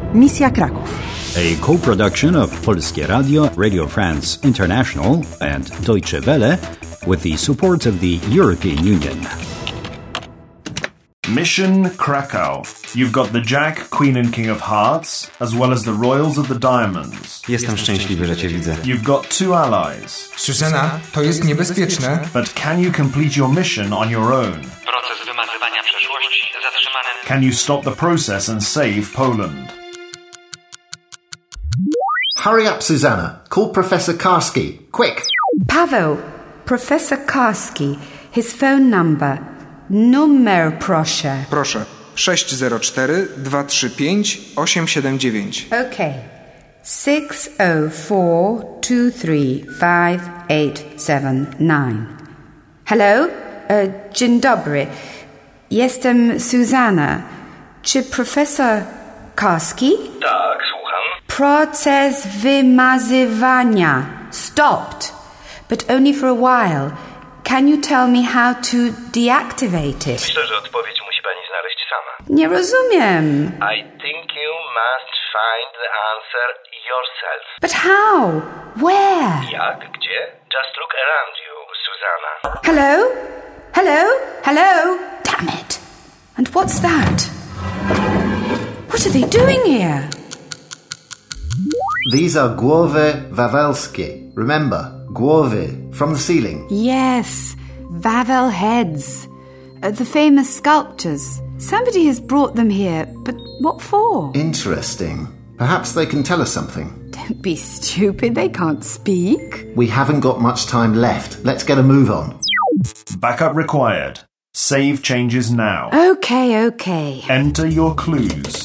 Misja Kraków. A co-production of Polskie Radio, Radio France International and Deutsche Welle with the support of the European Union. Mission Krakow. You've got the Jack, Queen and King of Hearts, as well as the Royals of the Diamonds. Jestem szczęśliwy, że cię widzę. You've got two allies. Susana, to jest niebezpieczne. But can you complete your mission on your own? Proces wymazywania przeszłości zatrzymany. Can you stop the process and save Poland? Hurry up, Susanna. Call Professor Karski. Quick! Paweł, Professor Karski, his phone number. Numer proszę. Proszę. 604-235-879. Okay. 604-235-879. Hello? Dzień dobry. Jestem Susanna. Czy profesor Karski? Tak, słucham. Proces wymazywania. Stopped. But only for a while. Can you tell me how to deactivate it? Myślę, że odpowiedź musi pani znaleźć sama. Nie rozumiem. I think you must find the answer yourself. But how? Where? Jak? Gdzie? Just look around you, Susanna. Hello? Hello? Hello? Damn it. And what's that? What are they doing here? These are głowy wawelskie. Remember, głowy, from the ceiling. Yes, Wawel heads. The famous sculptures. Somebody has brought them here, but what for? Interesting. Perhaps they can tell us something. Don't be stupid, they can't speak. We haven't got much time left. Let's get a move on. Backup required. Save changes now. Okay. Enter your clues.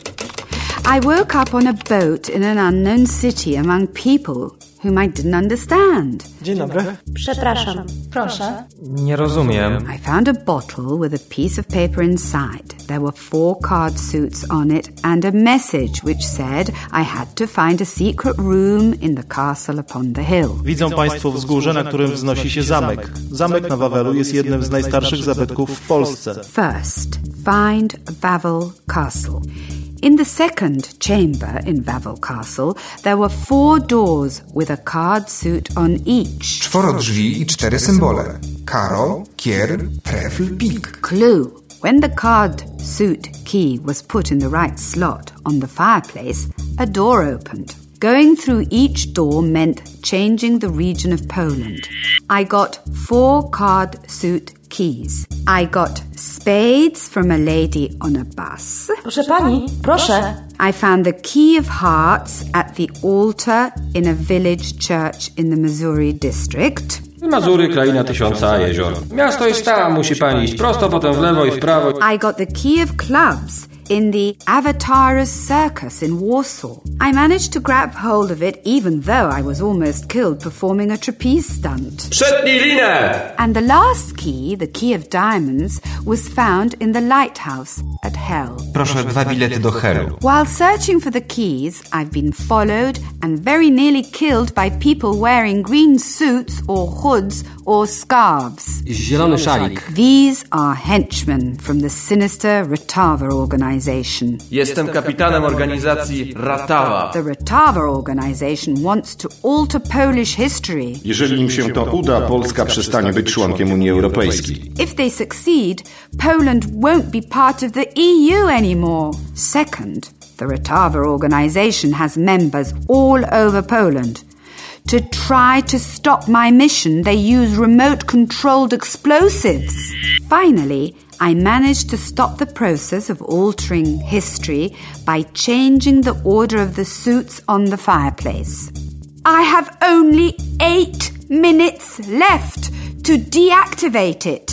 I woke up on a boat in an unknown city among people whom I didn't understand. Dzień dobry. Przepraszam, proszę. Nie rozumiem. I found a bottle with a piece of paper inside. There were 4 card suits on it and a message which said I had to find a secret room in the castle upon the hill. Widzą Państwo wzgórze, na którym wznosi się zamek. Zamek na Wawelu jest jednym z najstarszych zabytków w Polsce. First, find Wawel Castle. In the second chamber in Wawel Castle, there were 4 doors with a card suit on each. 4 drzwi i 4 symbole. Karol, kier, trefl, pik. Clue. When the card suit key was put in the right slot on the fireplace, a door opened. Going through each door meant changing the region of Poland. I got 4 card suit keys. I got spades from a lady on a bus. Proszę pani, proszę. I found the key of hearts at the altar in a village church in the Missouri district. Mazury, kraina tysiąca jezior. Miasto jest tam, musi pani iść prosto, potem w lewo i w prawo. I got the key of clubs in the Avatars Circus in Warsaw. I managed to grab hold of it even though I was almost killed performing a trapeze stunt. Przetnij linę! And the last key, the key of diamonds, was found in the lighthouse at Hell. Proszę 2 bilety do Hellu. While searching for the keys, I've been followed and very nearly killed by people wearing green suits or hoods or scarves. Zielony szalik. These are henchmen from the sinister Ratawa organization. Jestem kapitanem organizacji Ratawa. The Ratawa organization wants to alter Polish history. Jeżeli im się to uda, Polska przestanie być członkiem Unii Europejskiej. If they succeed, Poland won't be part of the EU anymore. Second, the Ratawa organization has members all over Poland. To try to stop my mission, they use remote-controlled explosives. Finally, I managed to stop the process of altering history by changing the order of the suits on the fireplace. I have only 8 minutes left to deactivate it.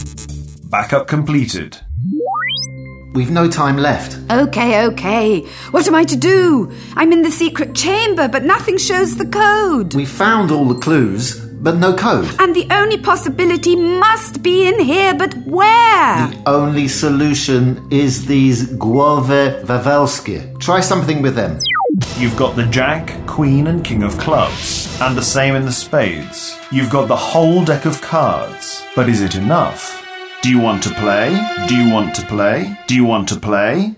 Backup completed. We've no time left. Okay. What am I to do? I'm in the secret chamber, but nothing shows the code. We found all the clues, but no code. And the only possibility must be in here, but where? The only solution is these głowy wawelskie. Try something with them. You've got the Jack, Queen and King of clubs, and the same in the spades. You've got the whole deck of cards, but is it enough? Do you want to play? Do you want to play? Do you want to play?